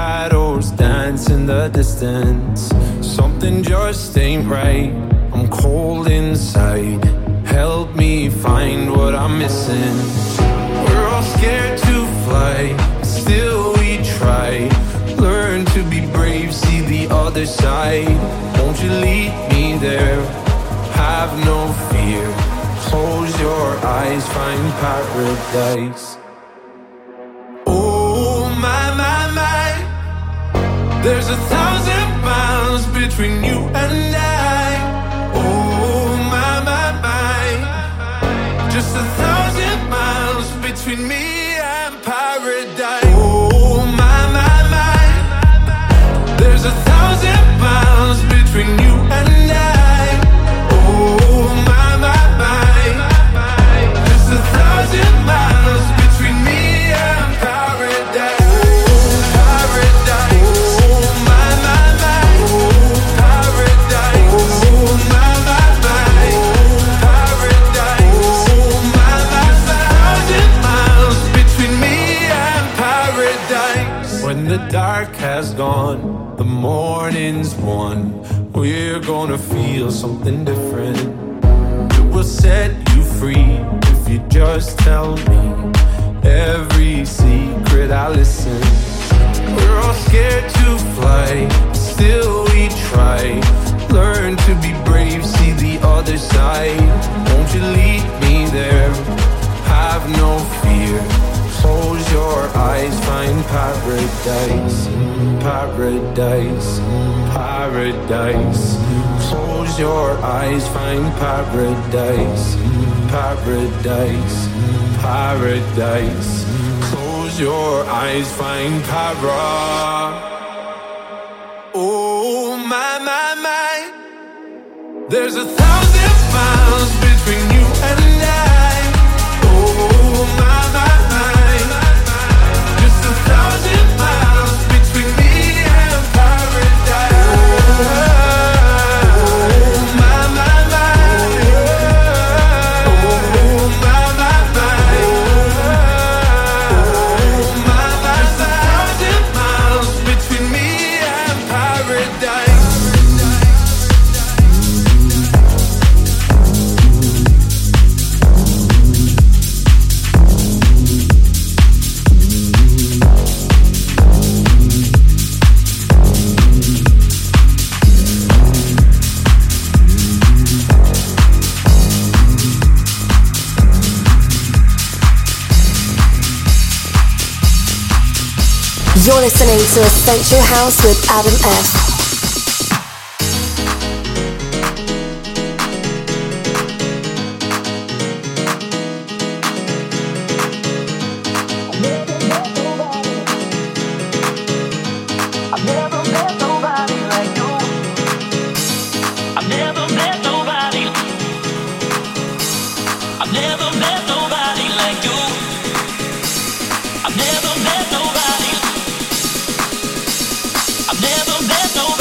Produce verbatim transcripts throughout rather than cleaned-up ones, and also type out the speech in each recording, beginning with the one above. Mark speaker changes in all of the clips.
Speaker 1: shadows dance in the distance. Something just ain't right. I'm cold inside. Help me find what I'm missing. We're all scared to fly, still we try. Learn to be brave, see the other side. Won't you lead me there? Have no fear. Close your eyes, find paradise. Oh my, my, my. There's a thousand miles between you and I. Oh my, my, my. Just a thousand miles between me and paradise. Oh my, my, my. There's a thousand miles between you and I. Oh my, my, my. Just a thousand miles between me and paradise. Oh, paradise. Oh my, my, my. Oh, paradise. Oh my, my, my. Oh, paradise. Oh my, my, my. Thousand miles between me and paradise. When the dark has gone, the morning's won. We're gonna feel something different. It will set you free if you just tell me every secret I listen. We're all scared to fly, still we try. Learn to be brave, see the other side. Won't you lead me there? Have no fear. Close your eyes, find paradise. Paradise, paradise. Close your eyes, find paradise. Paradise, paradise. Close your eyes, find para. Oh my, my, my. There's a thousand miles between you and I. Oh my, my, my. Just a thousand miles between me and paradise.
Speaker 2: You're listening to Essential House with Adam F.
Speaker 3: Never met nobody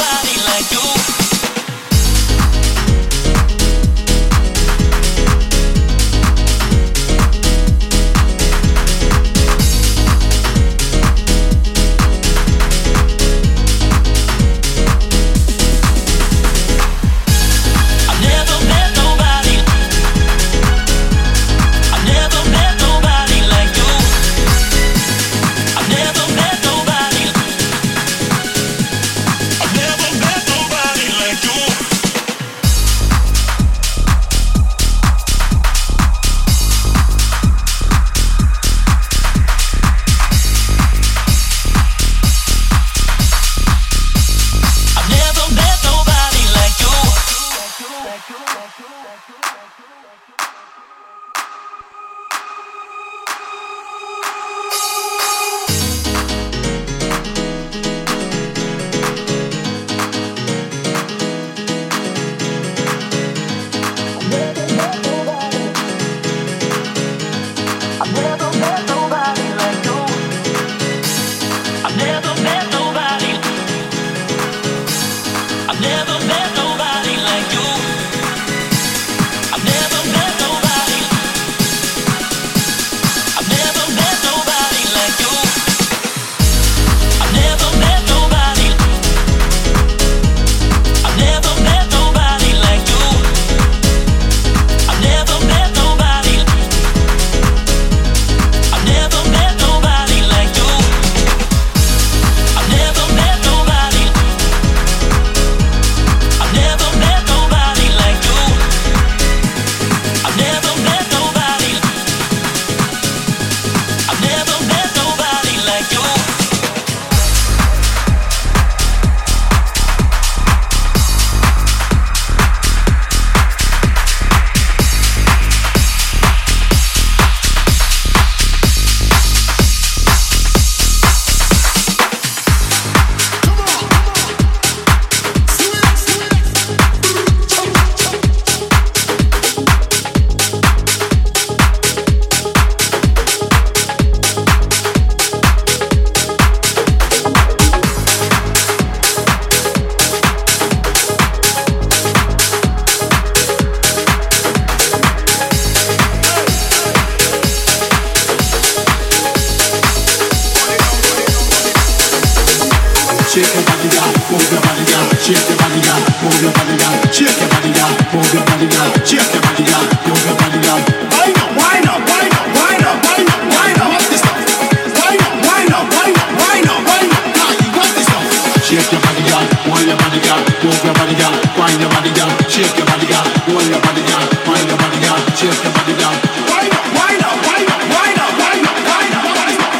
Speaker 3: Shake your body, girl. Move your body, girl. Shake your body, girl. Move your body, girl. Shake your body, girl. Move your body, girl. Shake your body, girl. Move your body, girl. Wind up, wind up, wind up, wind up, wind up, wind up. What's this stuff? Wind up, wind up, wind up, wind up, wind up. Now you got this stuff. Shake your body, girl. Wind your body, girl. Move your body, girl. Wind your body, girl. Shake your body, girl. Wind your body, girl. Wind your body, girl. Shake your body, girl. Wind up, wind up, wind up, wind up, wind up, wind up. What's this stuff?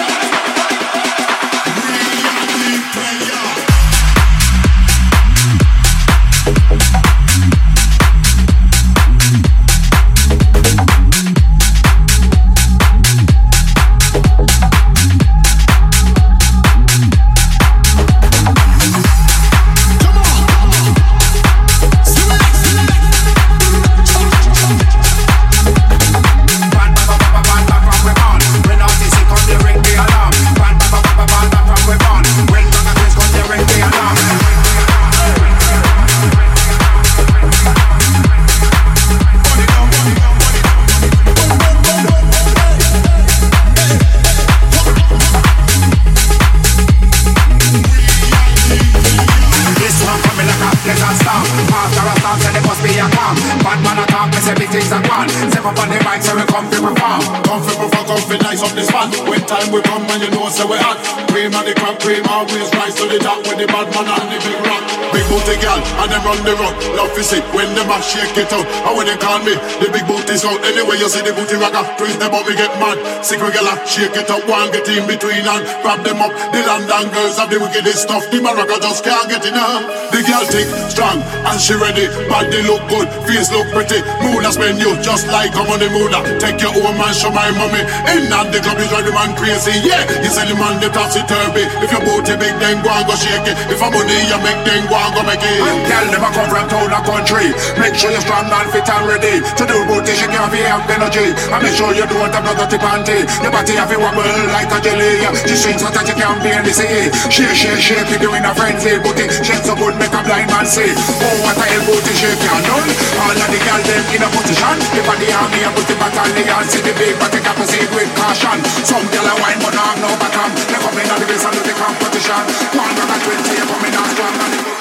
Speaker 3: We come and you know so we hot. Cream and the crab cream always rise to the top with the bad man and the big rock. Big booty girl and them run the rock. Love to see when them a shake it out. And when they call me, the big booty's out. Anyway you see the booty rocker, twist them up, me get mad. Sick regular, shake it up, one get in between and grab them up. The London girls have the wickedest stuff. The Morocco just can't get enough. The girl thick, strong and she ready. Body look good, face look pretty. Mood a spend you just like I'm on the mood. Take your own man, show my mommy. In and the club is drive the man crazy. Yeah, you sell the man the topsy-turvy. If your booty big, then go and go shake it. If a money you make, then go and go make it. Girl never come from town or country. Make sure you're strong and fit and ready to do booty, she can't be have energy. And make sure you don't have no dirty panty. Your body have a wobble like a jelly. She shakes so that you can't be in the sea. Shake, shake, shake, you doing a frenzy. Booty shake so good, make a blind man see. Oh, what a hell booty shake you done. All of the girls them in a position. If I the army and booty battalion, see the big but they can proceed with caution. Some girl a wine but not no bottom. They come in on the race and do the competition. One rock and twenty, you come in and strong and the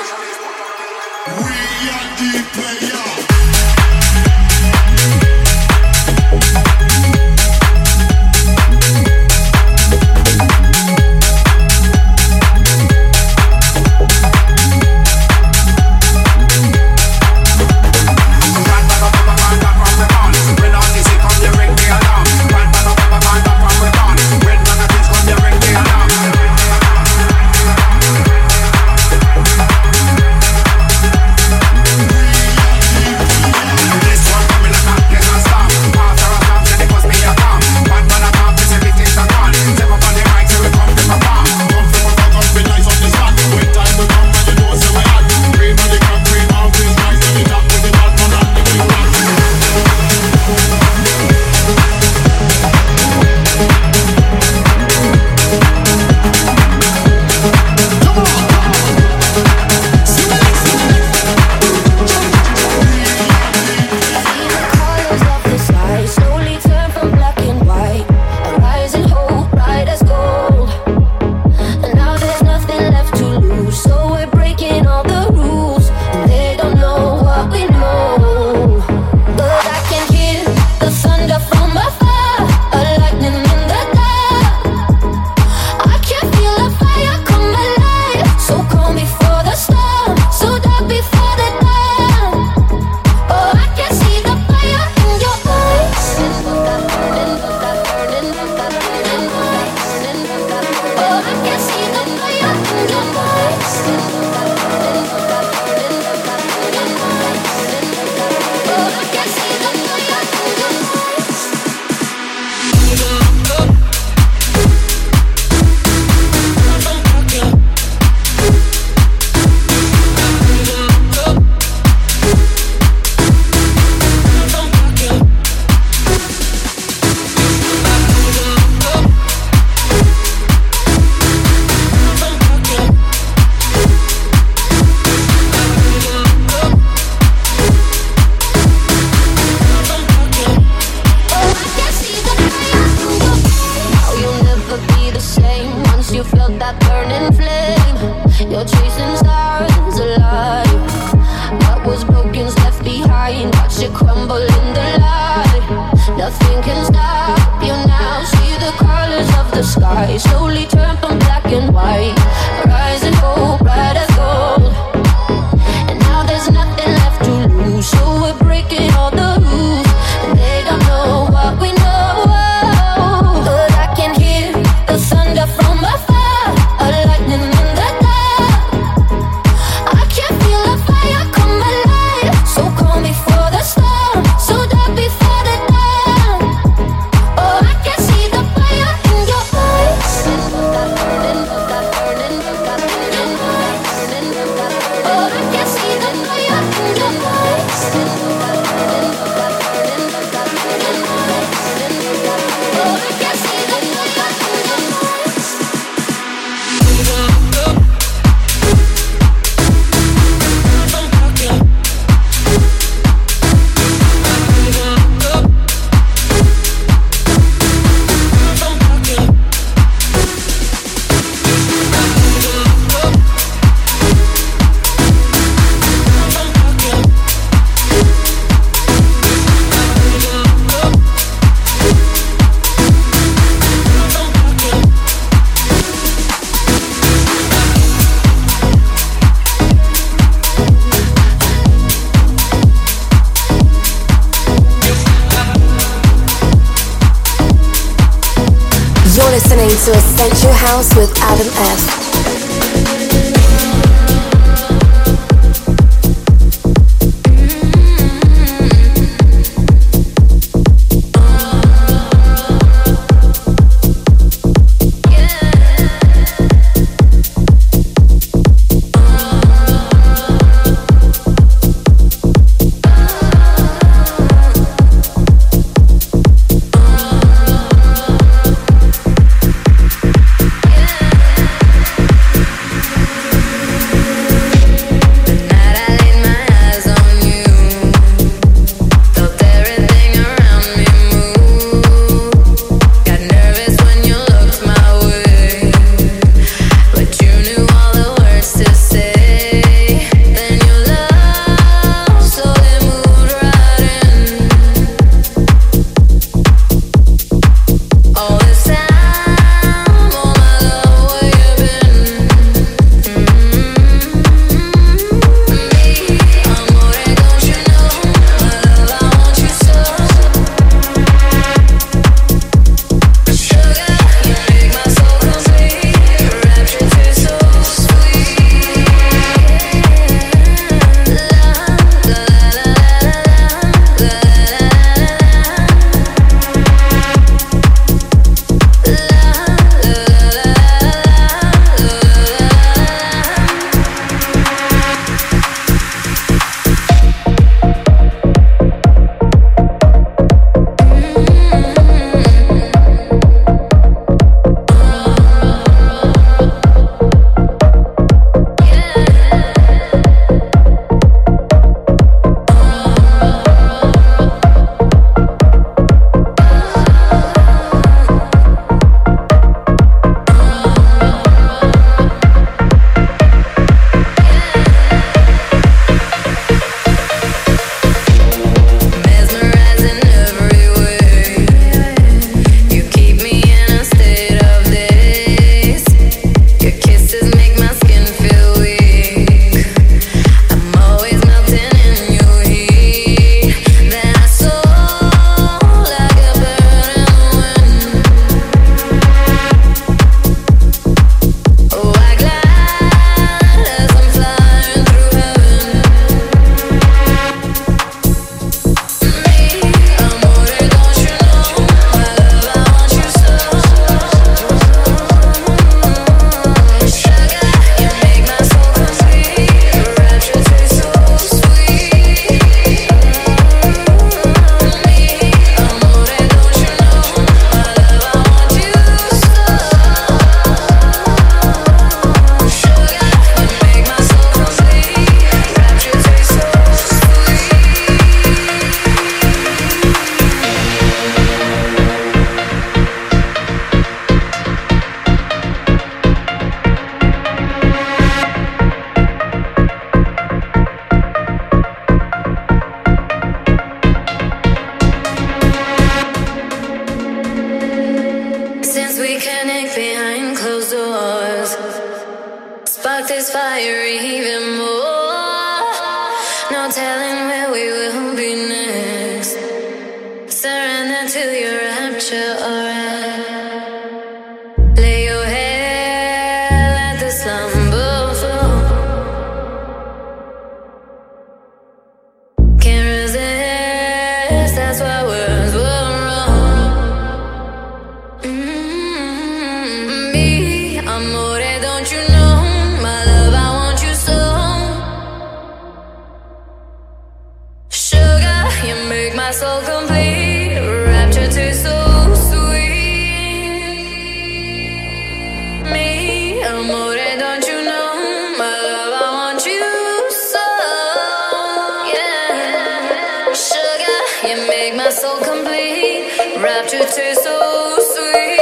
Speaker 3: we are the player.
Speaker 4: you felt that burning flame. You're chasing stars alive. What was broken's left behind. Watch it crumble in the light. Nothing can stop you now. See the colors of the sky slowly turn from black and white. Rising hope, bright as gold. And now there's nothing left to lose. So we're breaking all the rules. And they don't know what we know. But I can hear the thunder from afar. A lightning in the dark. I can feel the fire come alive. So calm before the storm. So dark before the dawn. Oh, I can see the fire in your eyes. Burning, burning, burning, burning, burning. Oh, I can see the fire in your eyes. Burning, burning, burning, burning. Oh, I can see the fire in your eyes.
Speaker 2: You're listening to Essential House with Adam F.
Speaker 4: Sugar
Speaker 5: spark this fire even more. No telling where we will be next. Surrender to your rapture, alright. Lay your head, let the slumber flow. Can't resist, that's why words were wrong. Mm-hmm. Me, amore, don't you know? My love, I want you so. Sugar, you make my soul complete. Rapture tastes so sweet. Me, amore, don't you know? My love, I want you so. Yeah. Sugar, you make my soul complete. Rapture tastes so sweet.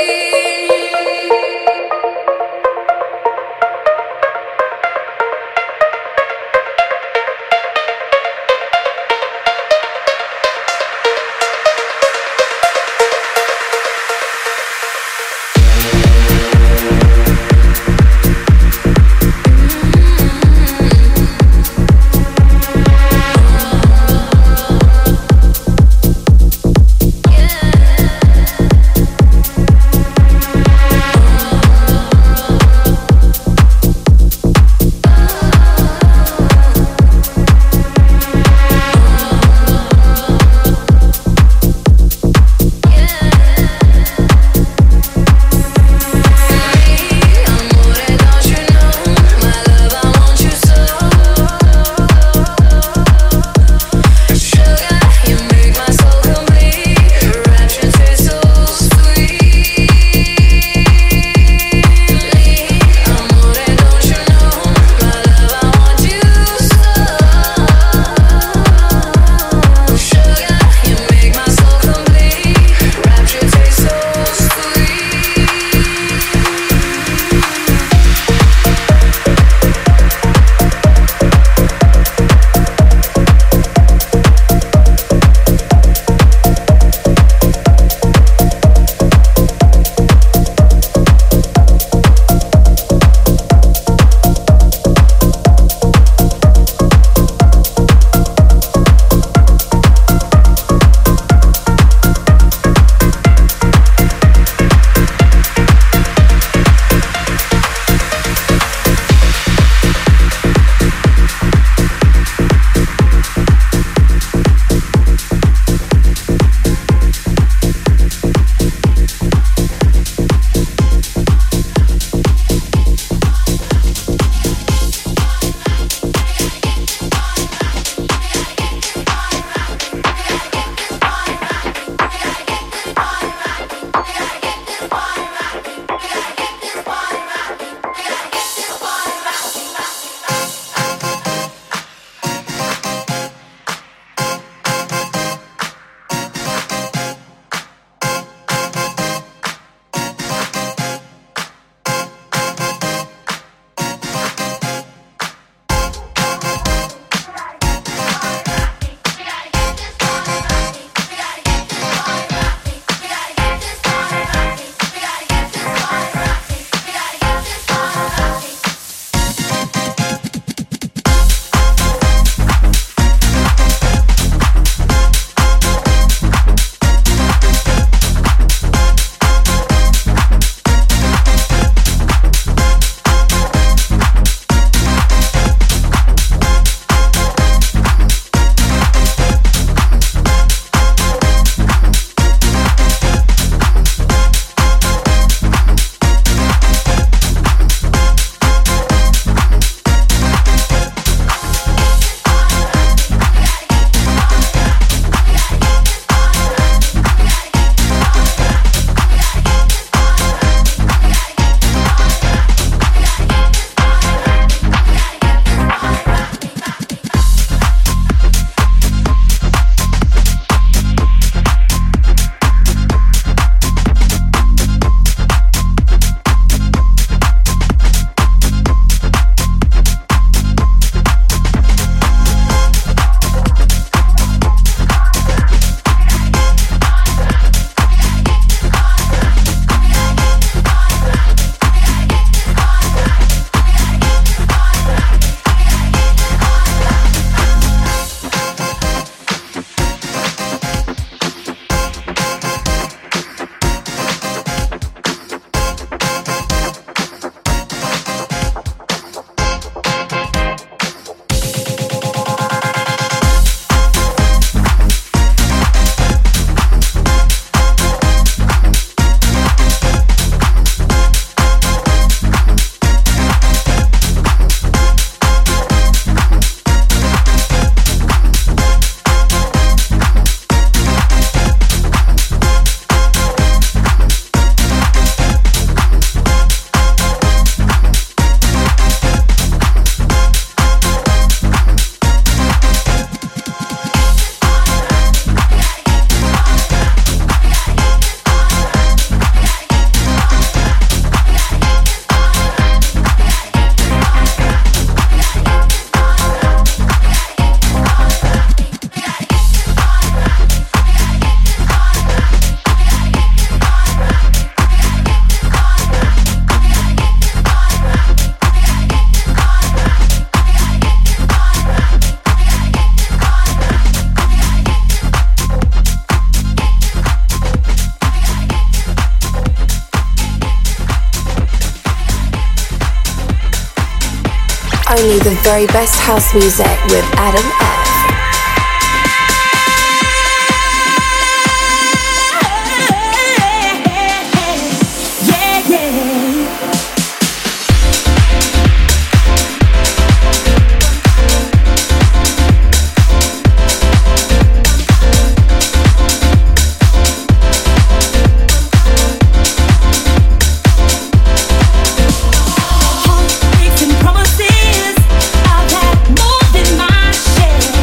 Speaker 4: Yeah.
Speaker 2: only the very best house music with Adam F.
Speaker 6: Promises I've had more than my share.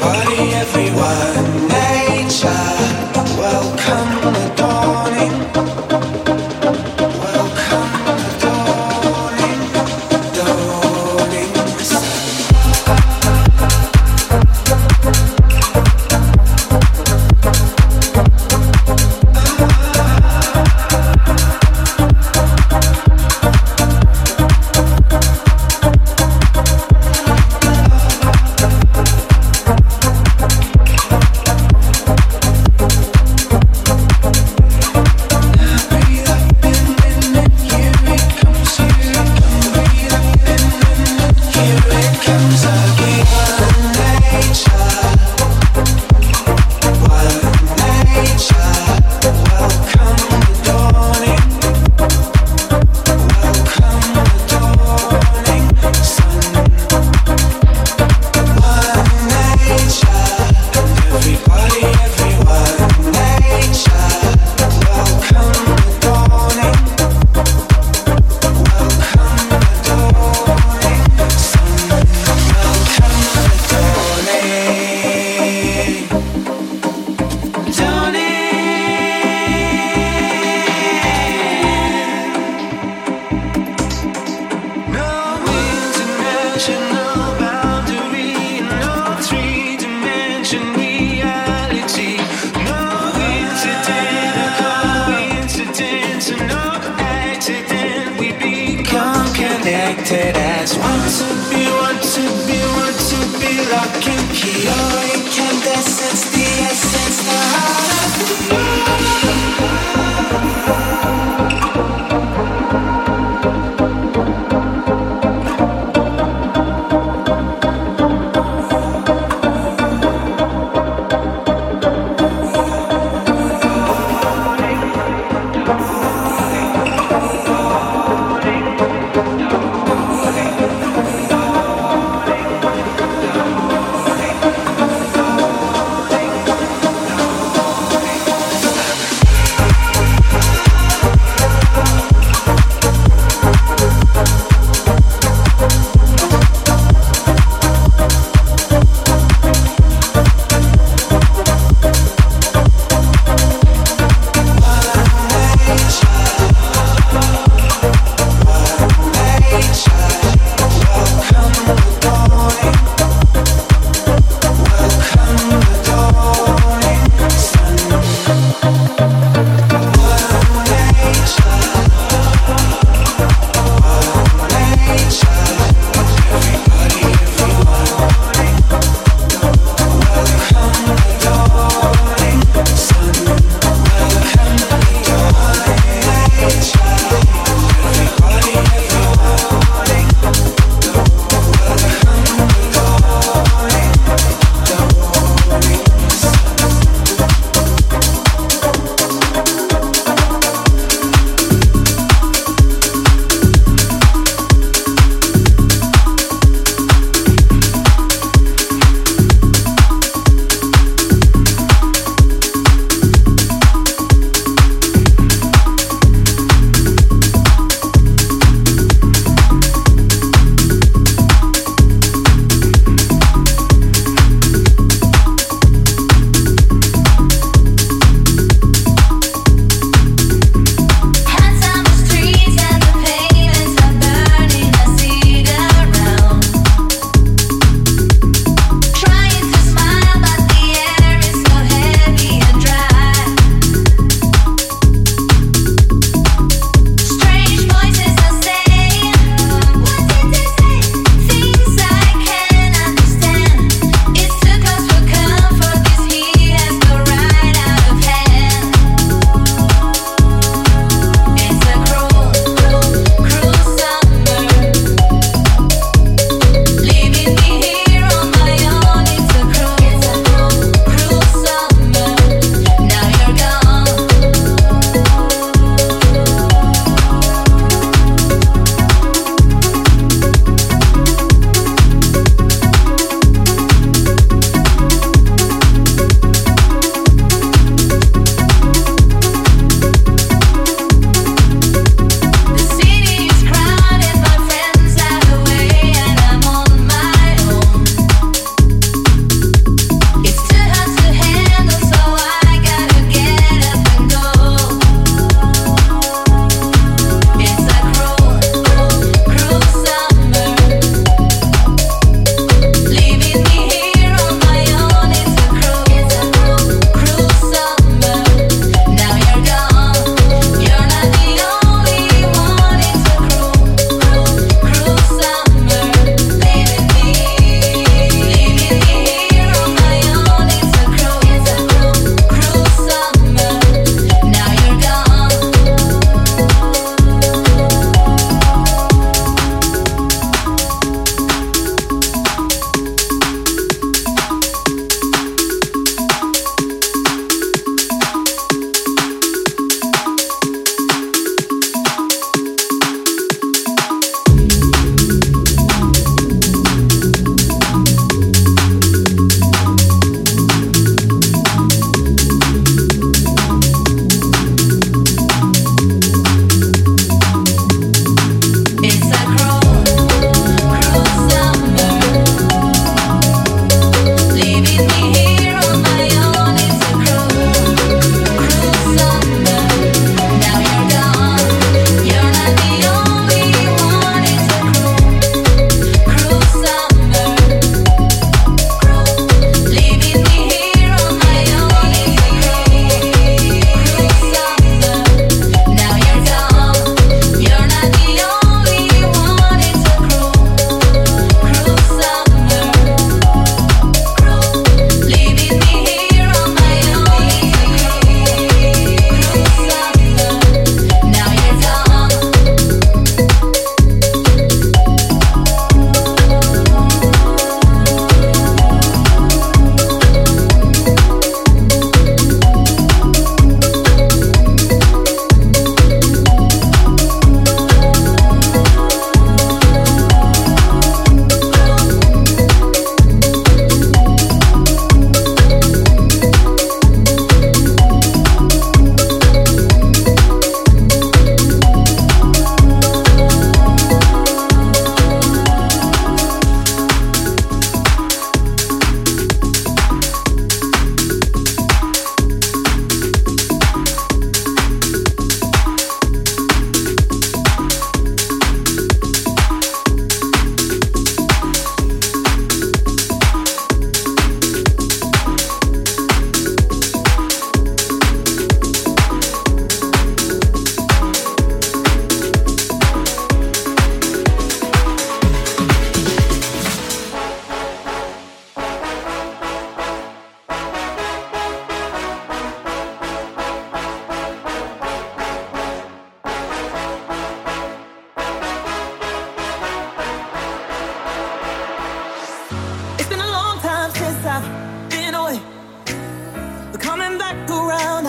Speaker 6: Darling,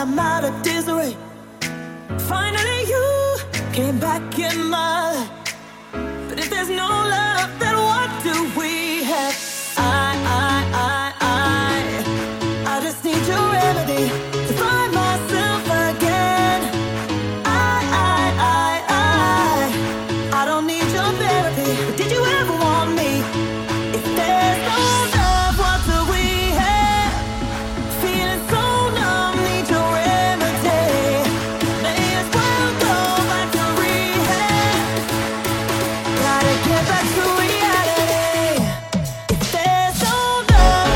Speaker 6: I'm out of disarray. Finally you came back in my life. But if there's no love, then what do we have? I, I, I, I I just need your remedy to find myself again. I, I, I, I I don't need your therapy, but did you ever want me? If there's no love, what do we have? Feeling so numb, need your remedy. May as well go back to rehab. Gotta get back to reality. If there's no love,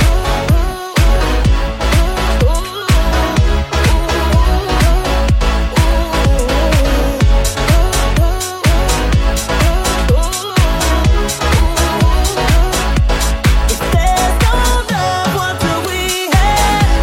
Speaker 6: if there's no love, what do we have?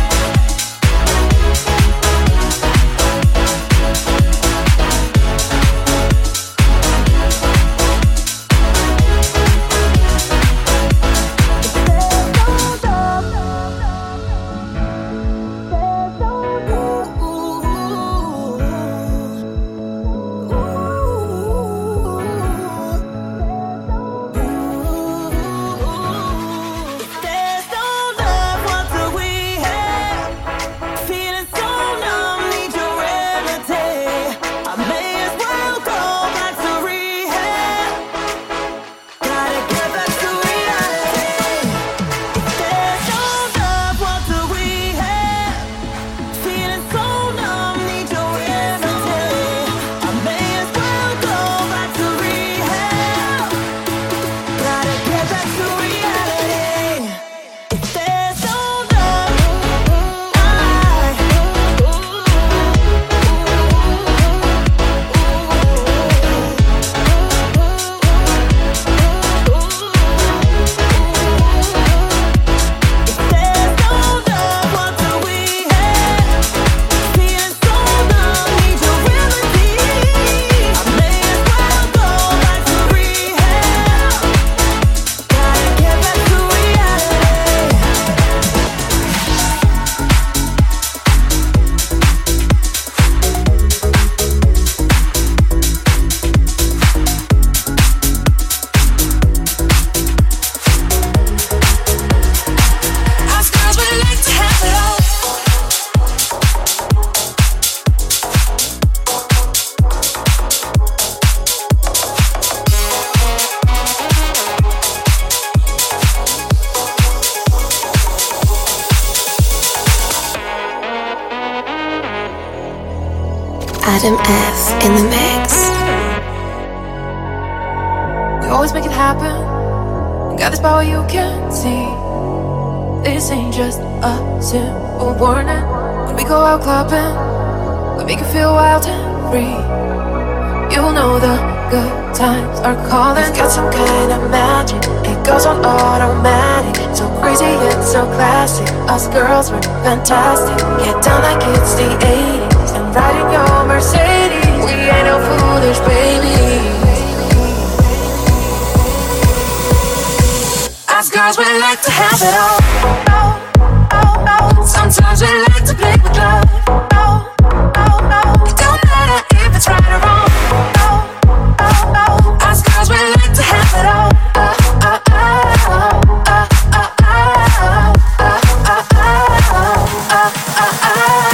Speaker 6: If there's no love, what do we have? Feeling so numb, need your remedy. I may as well go back to rehab. Gotta get back to reality. If there's no love, what do we have? Feeling so numb, need your remedy. I may as well go back to rehab. Gotta get back to reality. If there's no love, I If there's no love, what do we have? Feeling so numb, need your remedy. I may as well go back to rehab. Gotta get back to reality.
Speaker 5: Us girls really like to have it all.
Speaker 2: Adam F in the mix.
Speaker 7: We always make it happen. We got this power you can't see. This ain't just a simple warning. When we go out clubbing, we make you feel wild and free. You know the good times are calling. It's got some kind of magic. It goes on automatic. So crazy, it's so classic. Us girls, we're fantastic. Get down like it's the eighties and ride in your Mercedes. We ain't no foolish babies.
Speaker 5: Us girls we like to have it all. Oh, oh, oh. Sometimes we like to play with love. Oh, oh, oh. It don't matter if it's right or wrong. Oh, oh, oh. Us girls we like to have it all. Oh, oh, oh, oh, oh, oh, oh, oh, oh, oh, oh, oh, oh.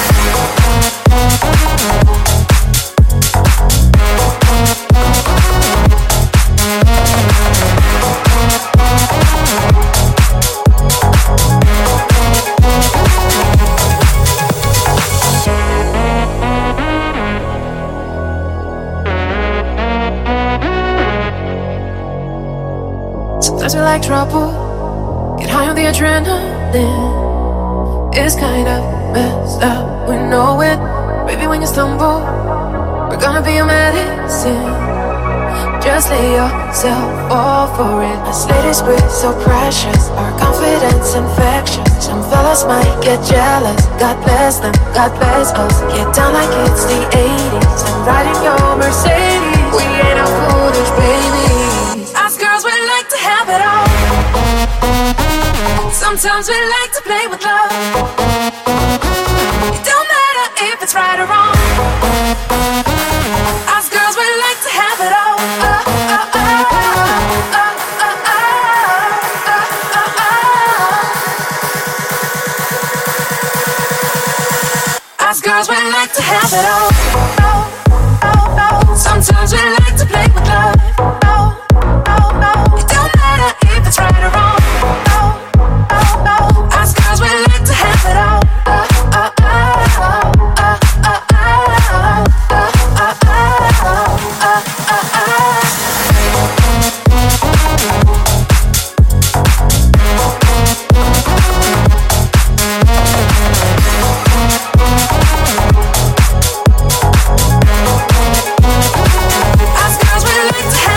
Speaker 7: Sometimes we like trouble. Get high on the adrenaline. It's kind of messed up, we know it. Baby, when you stumble, we're gonna be your medicine. Just lay yourself all for it. Us ladies, we're so precious. Our confidence infectious. Some fellas might get jealous. God bless them, God bless us. Get down like it's the eighties and ride in your Mercedes. We ain't no foolish babies.
Speaker 5: Us girls we like to have it all. Sometimes we like to play with love. It
Speaker 7: it's right or wrong. Us girls, we like to have it all. Oh, oh, oh, oh, oh, oh, oh, oh. Us girls, we like to have it all. Oh, oh, oh. Sometimes we like to play with love. Oh, oh, oh. It don't matter if it's right or wrong. Oh, oh, oh. Us girls, we like to have it all. Oh, oh, oh, oh, oh, oh, oh, oh, oh, oh, oh, oh. Us girls, we like to have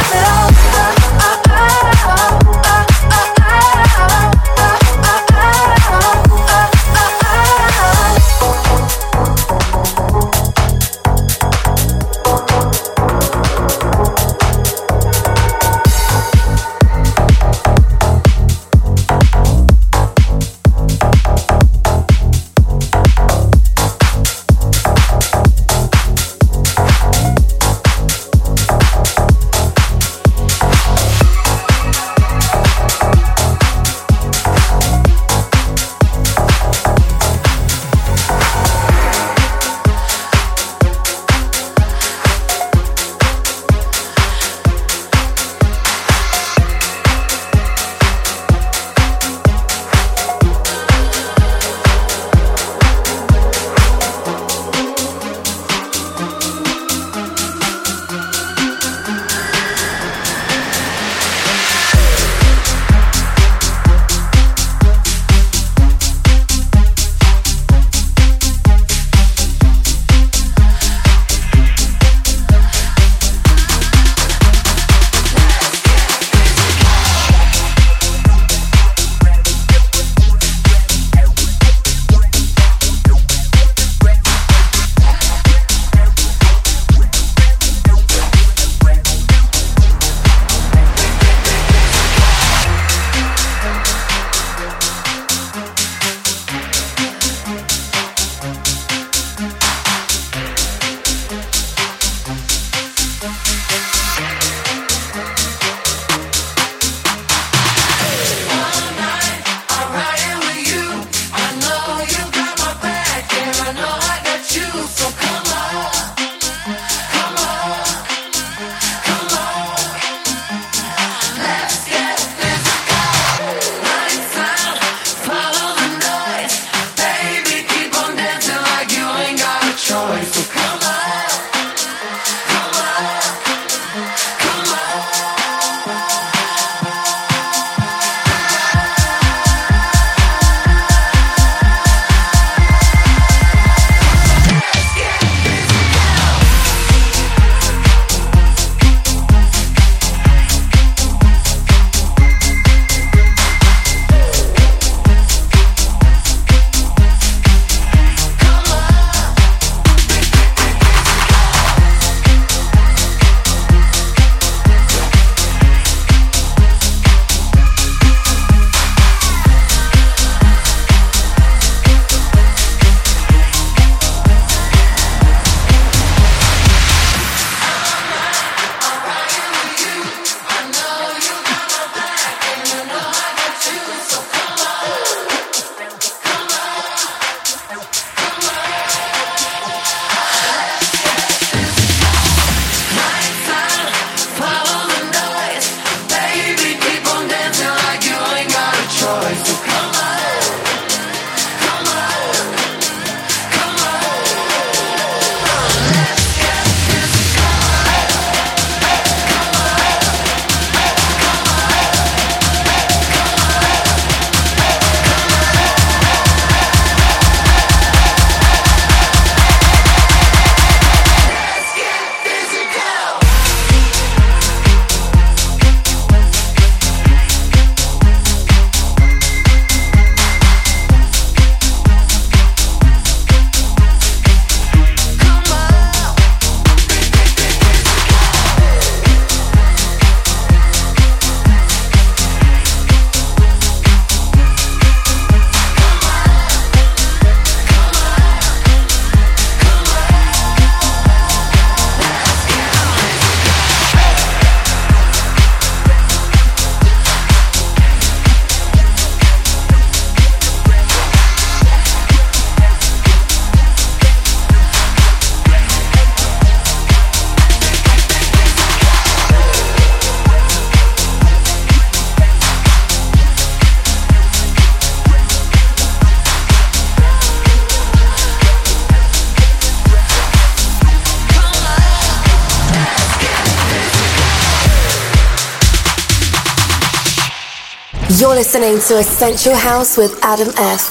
Speaker 2: You're listening to Essential House with Adam F.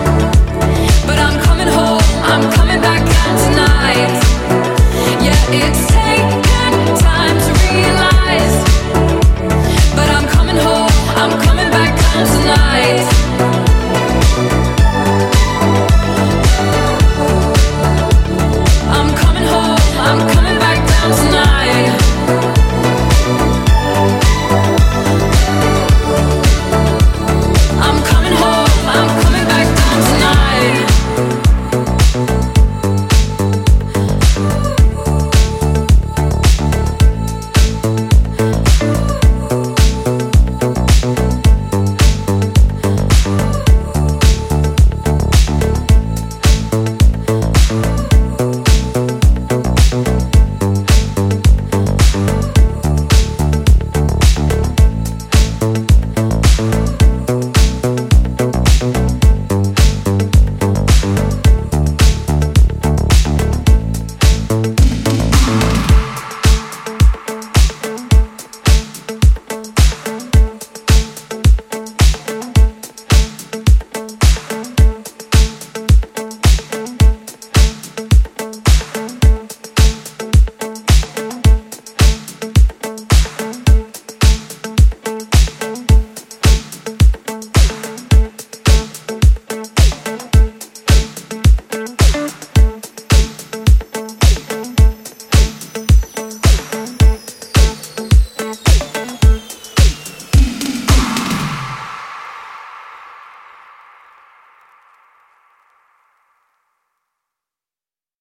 Speaker 5: It's